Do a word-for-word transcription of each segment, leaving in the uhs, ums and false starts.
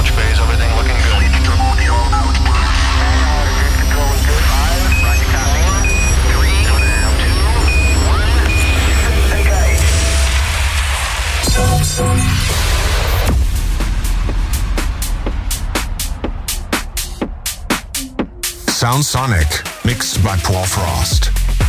Launch base, everything looking good. Sound Sonic, mixed by Paul Frost.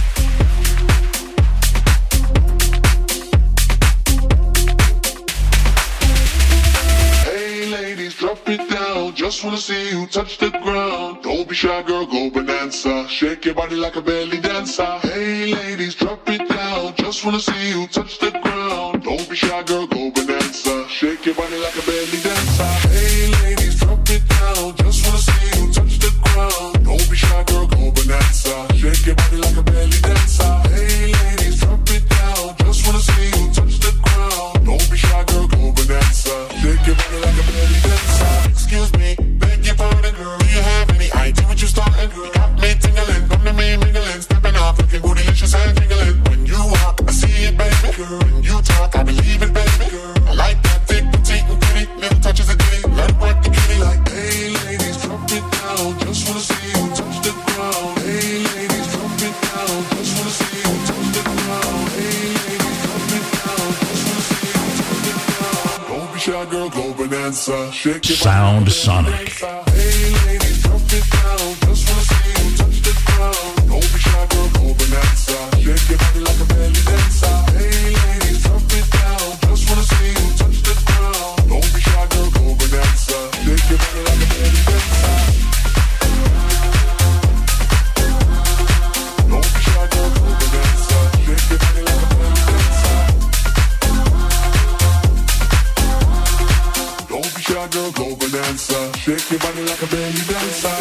Hey ladies, drop it down. Just wanna see you touch the ground. Don't be shy, girl, go bonanza. Shake your body like a belly dancer. Hey ladies, drop it down. Just wanna see you touch the ground. Don't be shy, girl, go bonanza. Shake your body like a belly dancer. Hey ladies, drop it down. Just wanna see you touch the ground. Don't be shy, girl, go bonanza. Shake your body like a belly dancer. Hey ladies, drop it down. Just wanna see you touch the ground. Don't be shy, girl, go bonanza. Shake your body like a belly dancer. Excuse me, beg your pardon, girl. Do you have any idea what you starting, girl? You got me tingling, come to me mingling, stepping off, looking bootylicious and jingling. When you walk, I see it, baby, girl. When you talk, I believe it, baby, girl. I like that thick, petite, and pretty, little touches of ditty. Let it work the kitty like, hey ladies, drop it down. Just wanna see you touch the ground. Hey ladies, drop it down. Just wanna see you touch the ground. Hey ladies, drop it down. Just wanna see you touch the ground. Don't be shy, girl, go bonanza. Shake your Sound Sonic. Hey ladies, drop it down. Just wanna see you touch the ground. Don't be shy, girl, go bonanza. Shake your body like a belly dancer. Hey ladies, drop it down. Just wanna see you touch the ground. Don't be shy, girl, go bonanza. Shake your body like a belly dancer. Don't be shy, girl, go bonanza. Shake your body like a belly dancer. Don't be shy, girl, go bonanza. Shake your body like a belly dancer.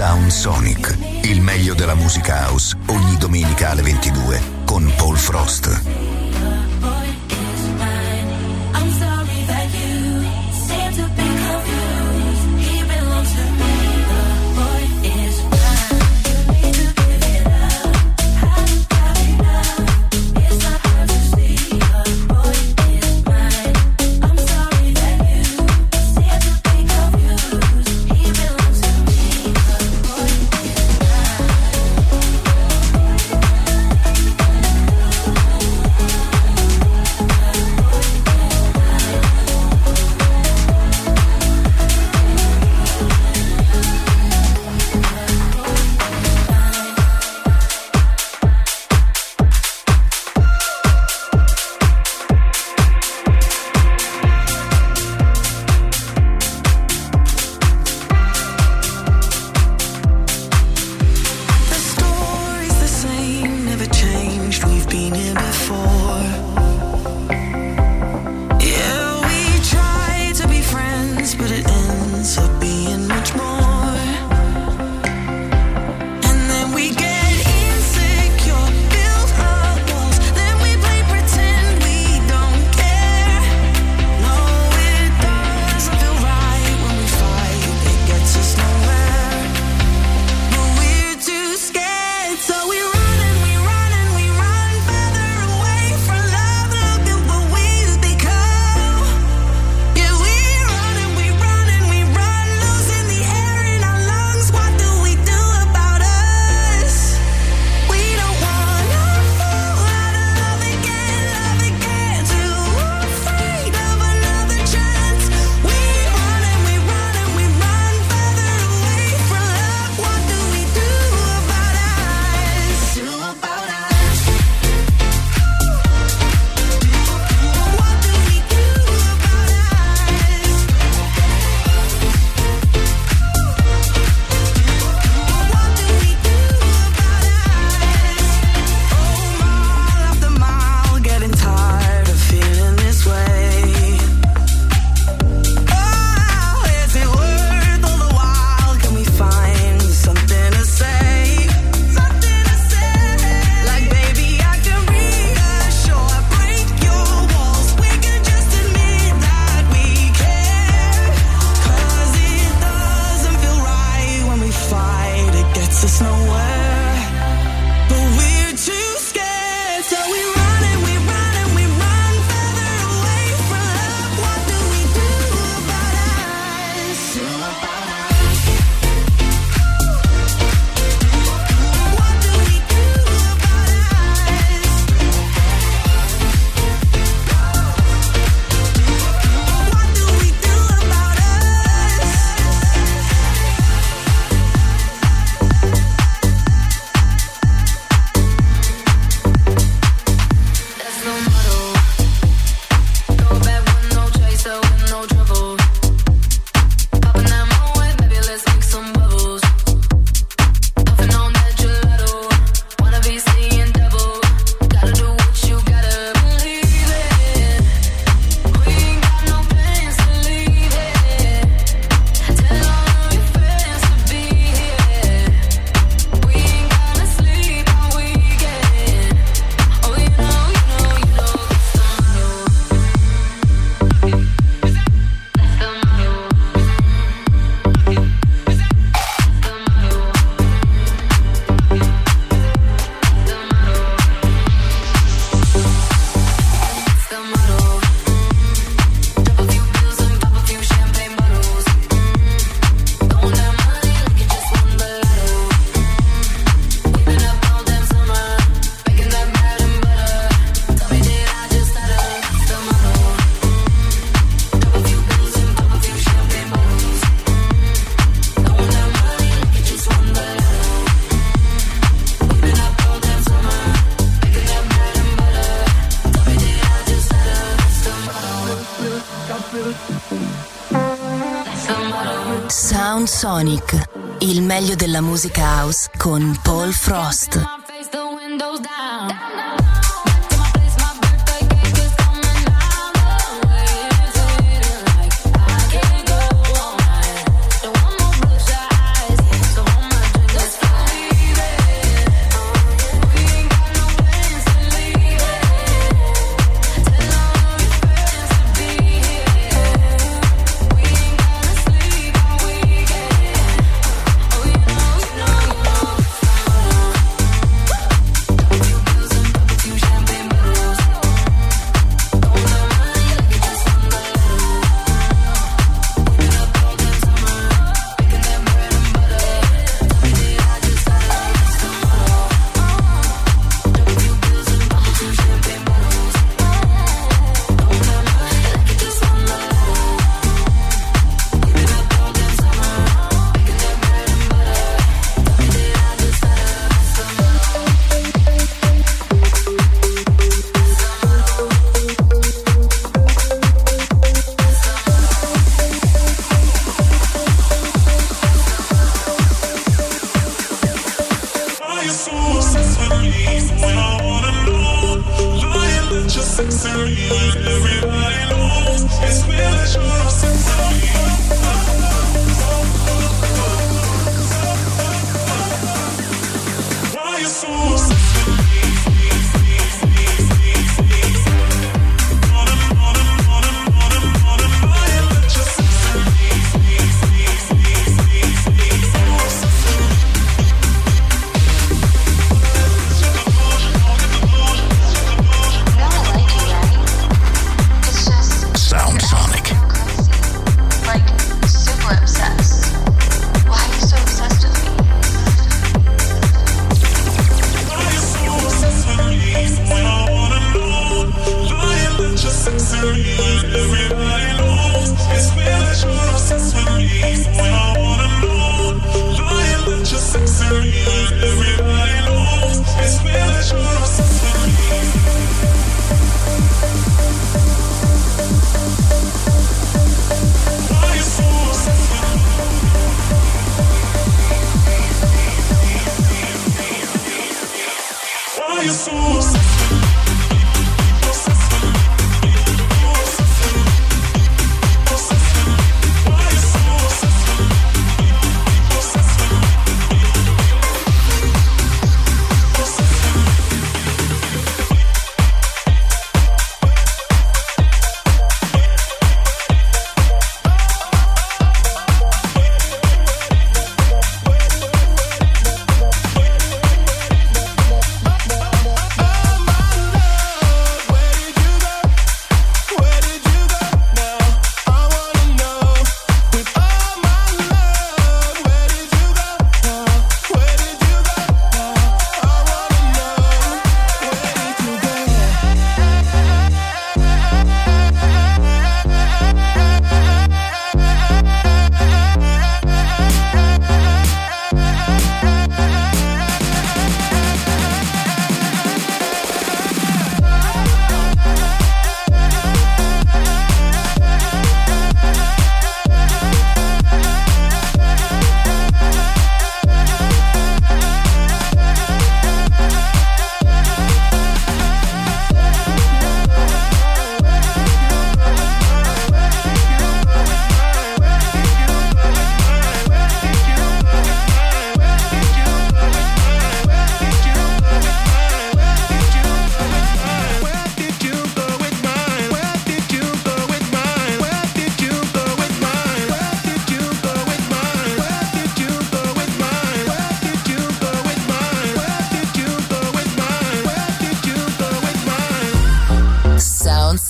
Sound Sonic, il meglio della musica house, ogni domenica alle ventidue con Paul Frost. Sound Sonic, il meglio della musica house con Paul Frost. Don't want no bloodshot eyes, so hold my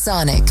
Sonic.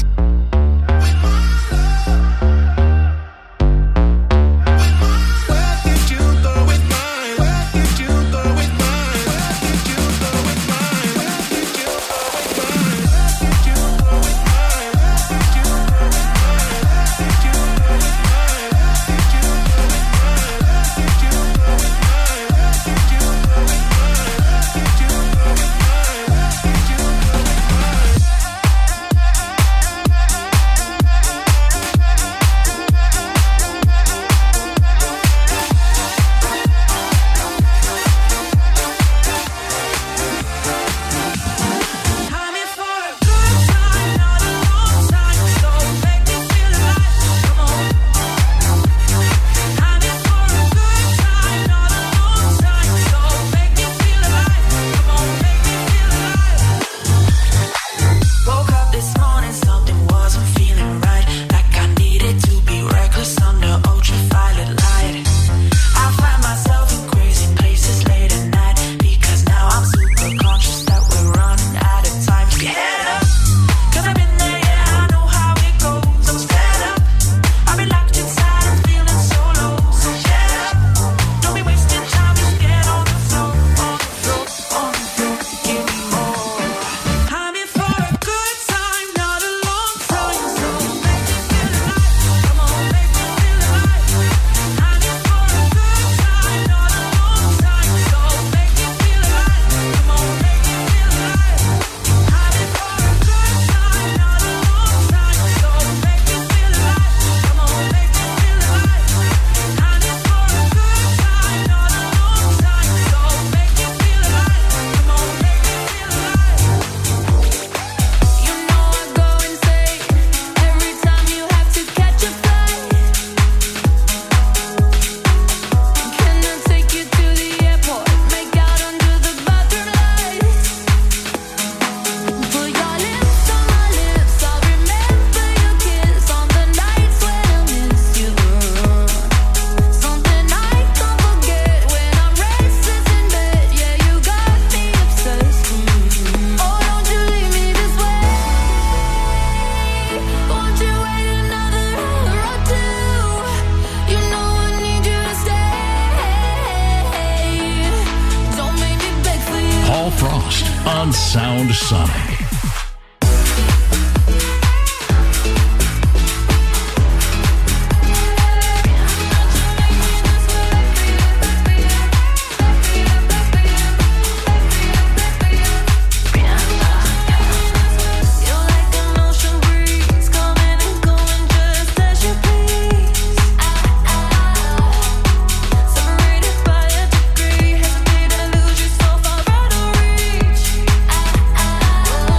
on Sound Sonic. Oh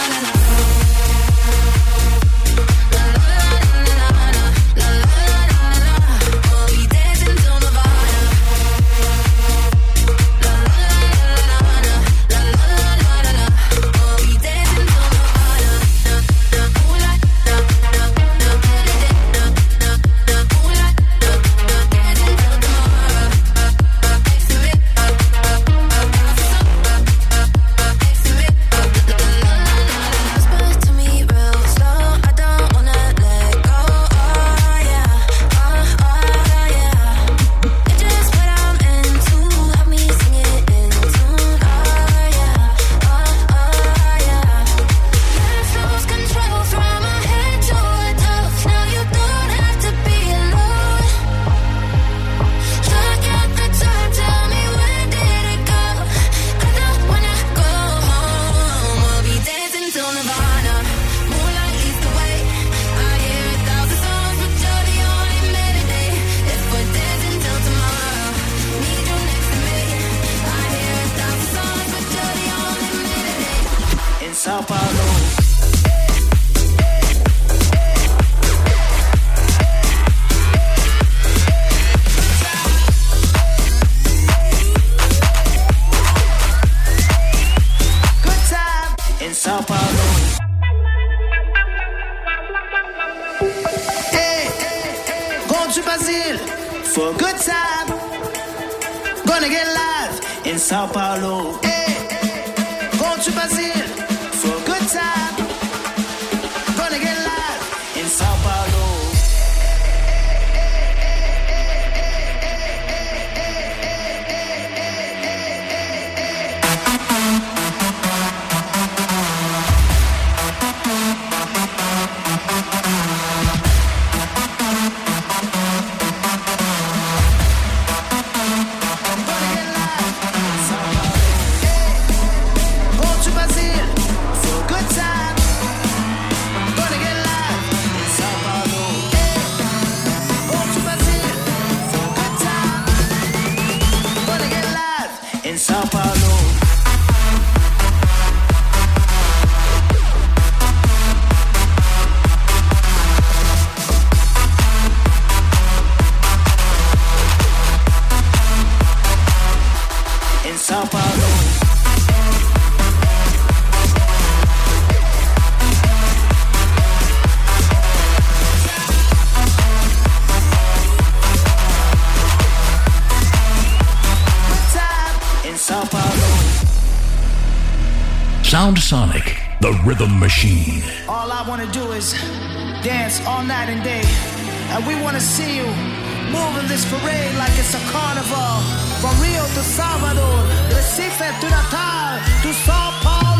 Sound Sonic, the rhythm machine. All I want to do is dance all night and day. And we want to see you moving this parade like it's a carnival. From Rio to Salvador, Recife to Natal, to Sao Paulo.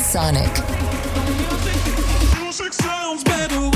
Sonic. Music sounds better with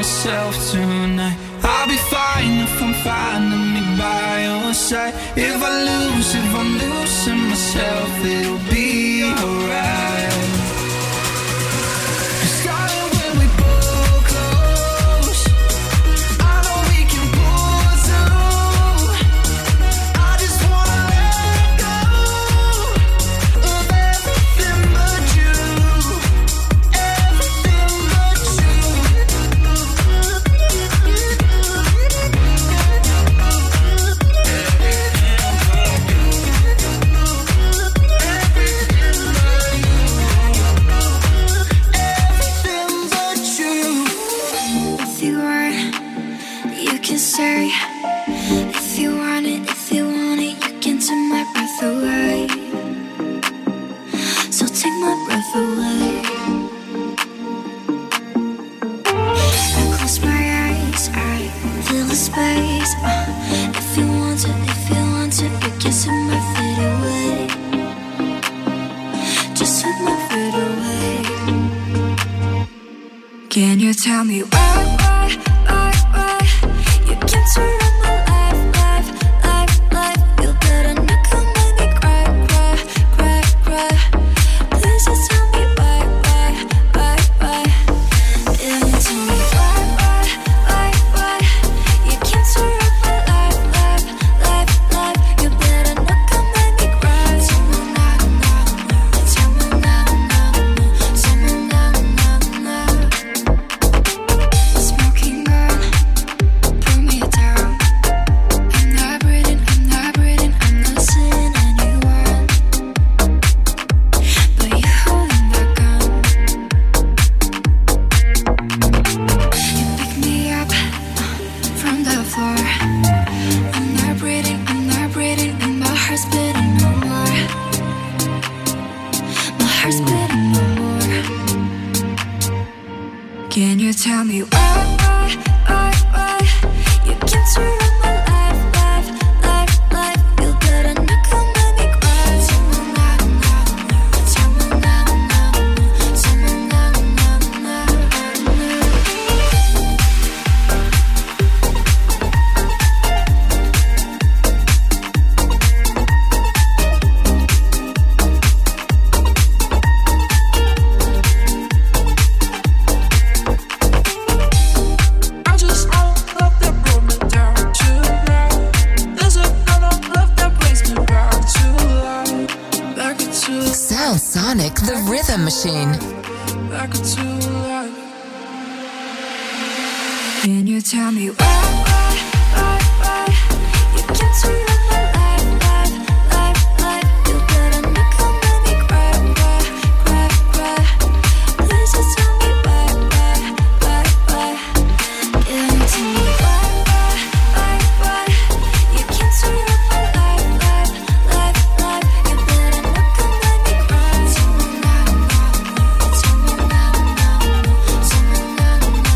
myself tonight. I'll be fine if I'm finding me by your side. If I lose, if I'm losing myself, it'll be alright. Can you tell me why, why, why, why you came to run my life, life, life, life? You better not come make me cry, cry, cry, cry. Please just tell me why, why, why, why. Can you tell me why, why, why, why you came to run my life, life, life, life? You better not come make me cry. Tell me now, now, now. Tell me now, now, now. Tell me now, now, now. Smoking gun, pull me down. I'm not breathing, I'm not breathing, I'm not seeing anyone but you holding that gun. You pick me up from the floor. I'm not breathing, I'm not breathing, and my heart's beating no more. My heart's beating no more. Can you tell me why, why, why, why you came to run my life, life, life, life? You better not come make me cry. Tell me now, now, now. Tell me now, now, now. Tell me now, now, now, now. I just want love that brought me down to now. There's a kind of love that brings me back to life, back into, Sound Sonic, the rhythm machine. back into life. Can you tell me why, why, why, why you came to run my life, life, life, life? You better not come make me cry, cry, cry, cry. Please just tell me why, why, why, why. Can you tell me why, why, why, why you came to run my life, life, life, life? You better not come make me cry. Tell me now, now, now. Tell me now, now, now. Tell me now, now, now.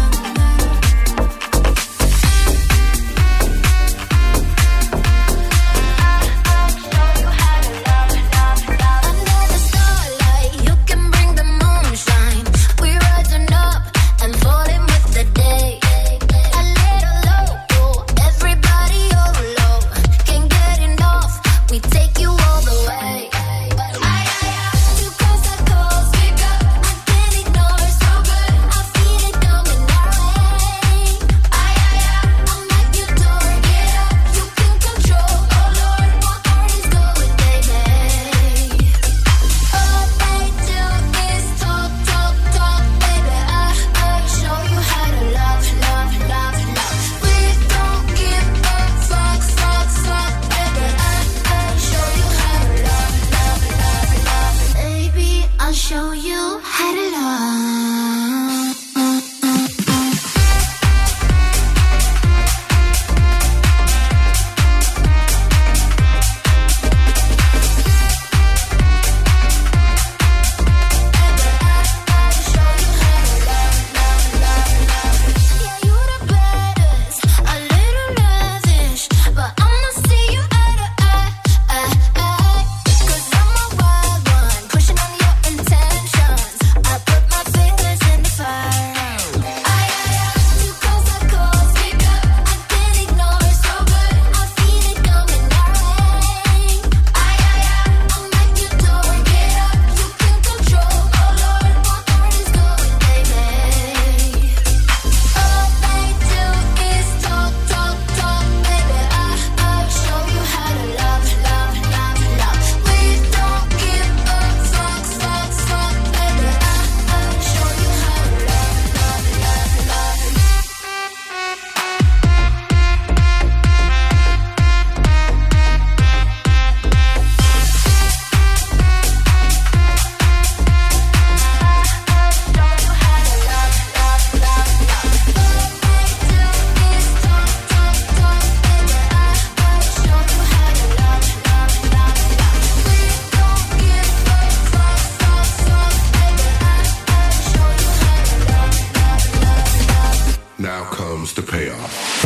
comes the payoff.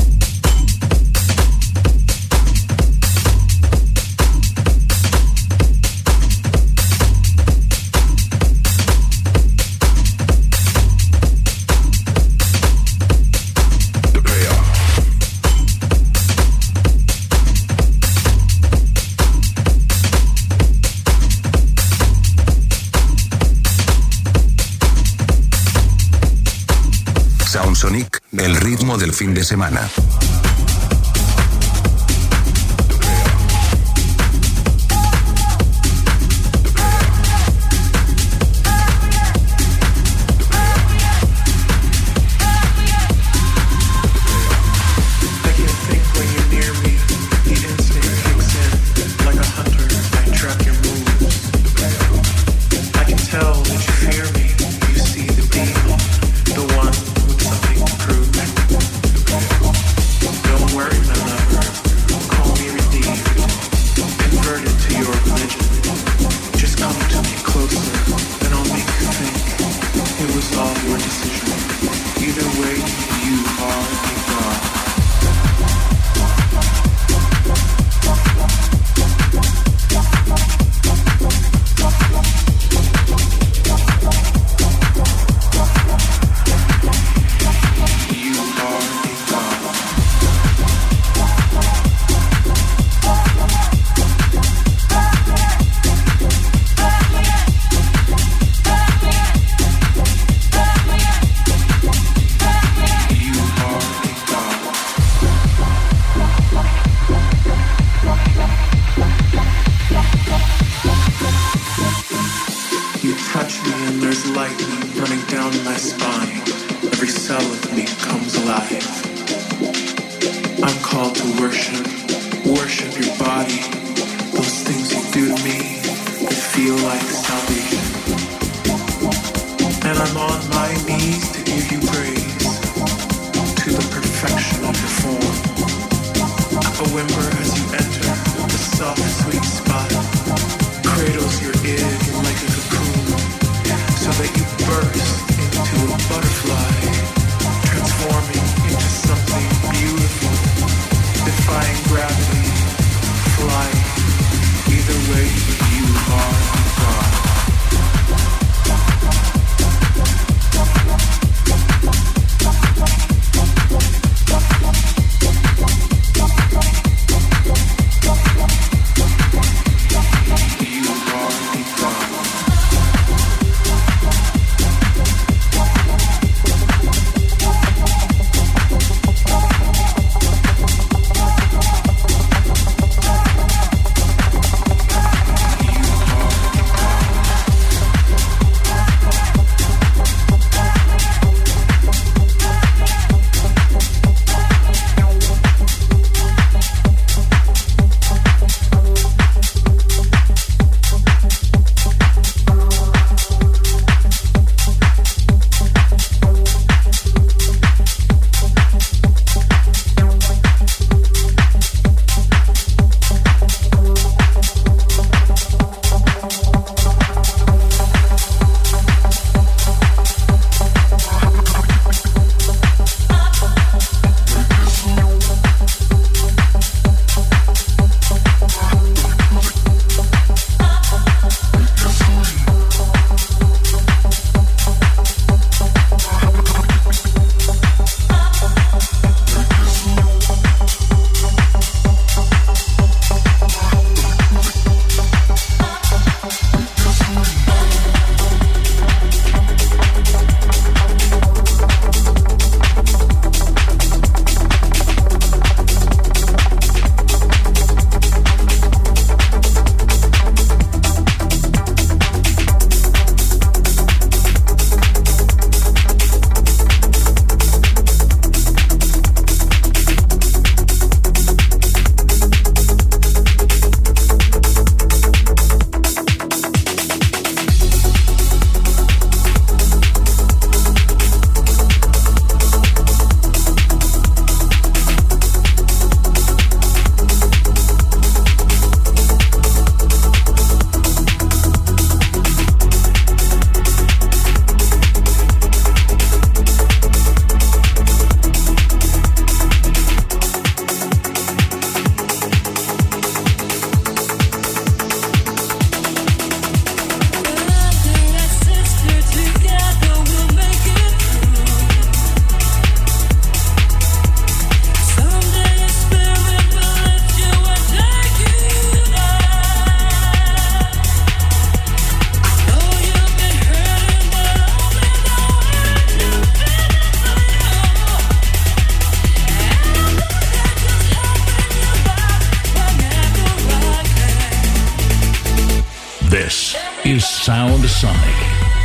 Soundsonic, el ritmo del fin de semana. Gravity, fly, either way. is Sound Sonic.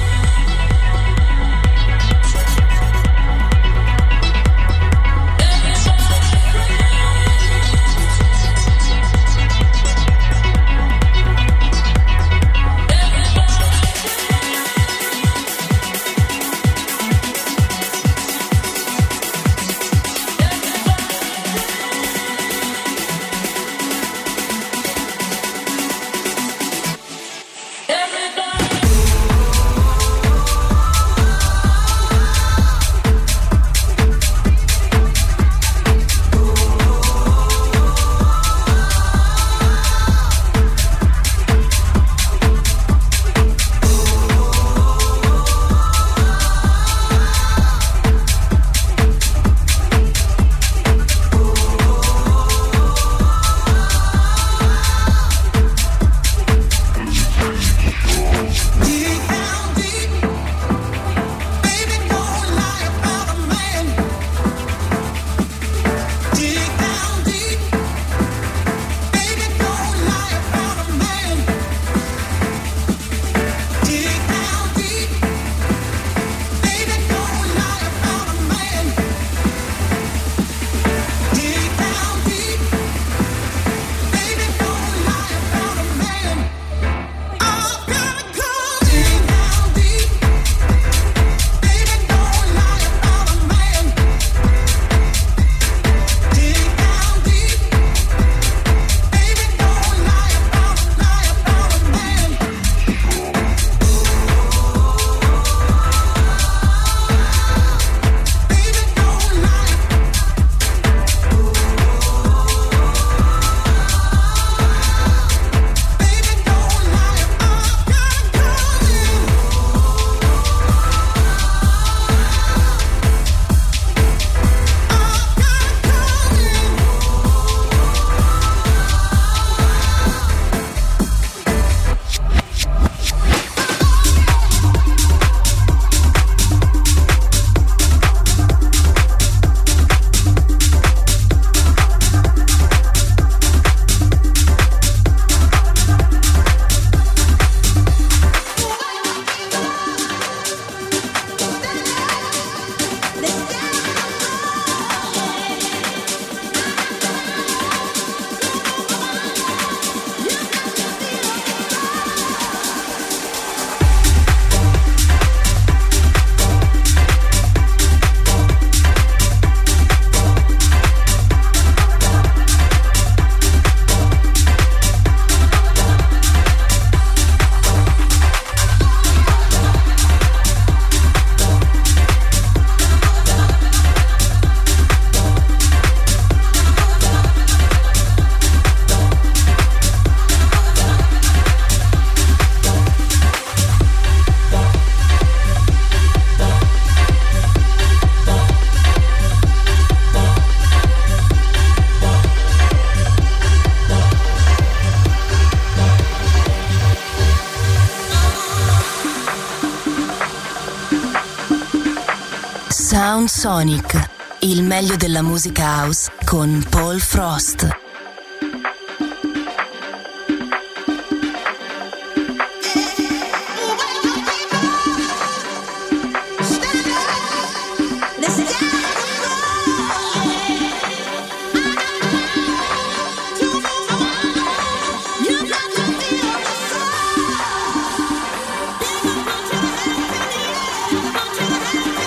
Sound Sonic, il meglio della musica house con Paul Frost.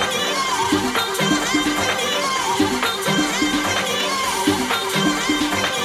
Thank you.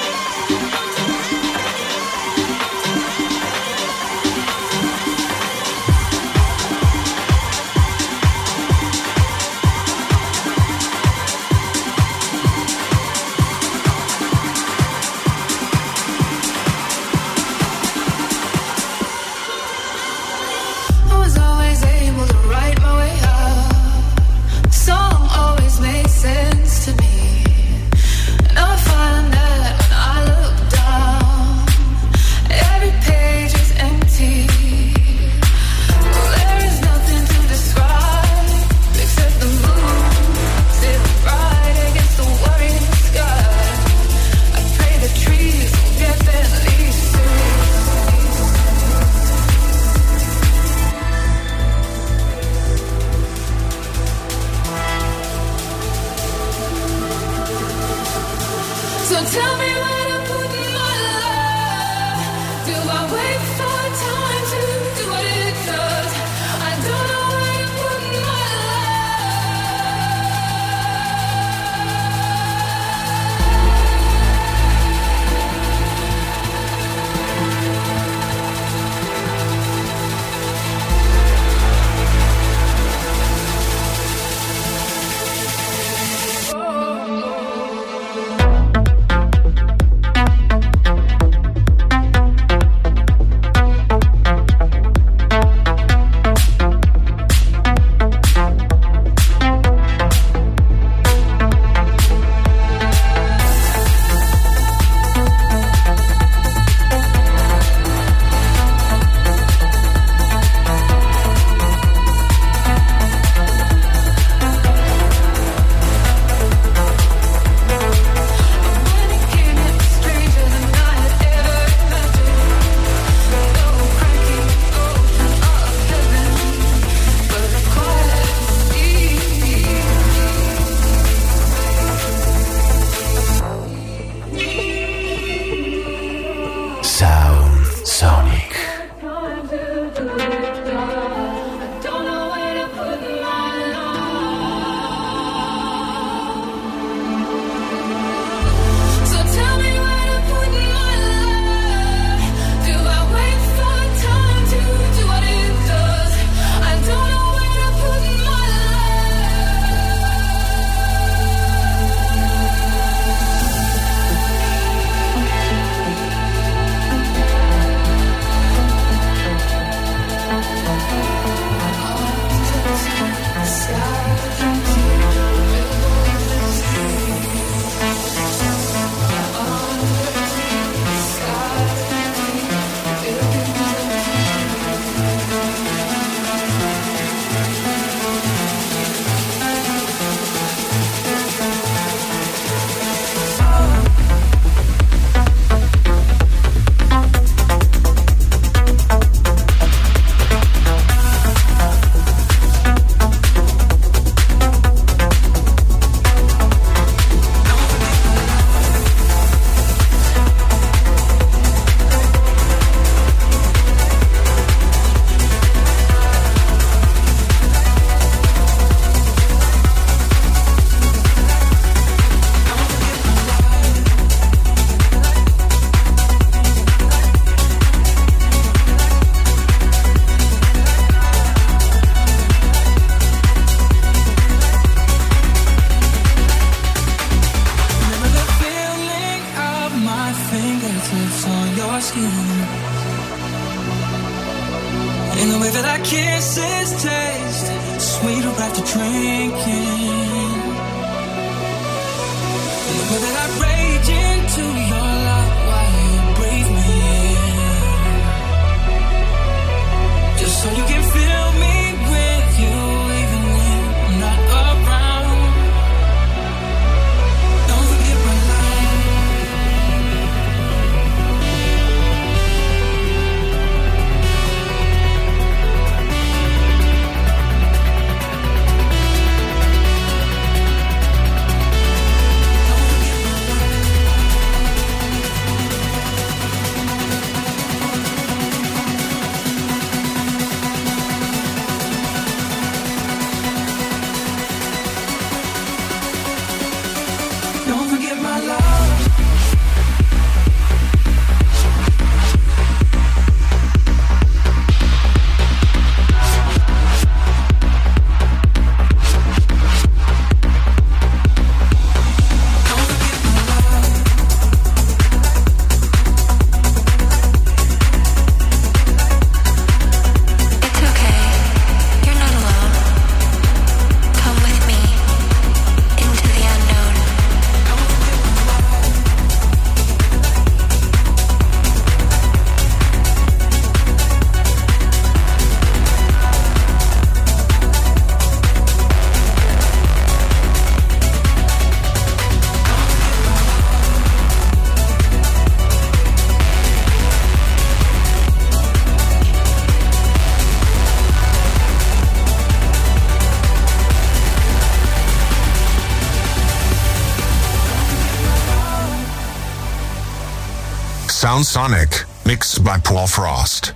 Sound Sonic, mixed by Paul Frost.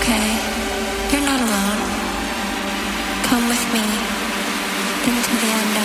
Come with me into the unknown.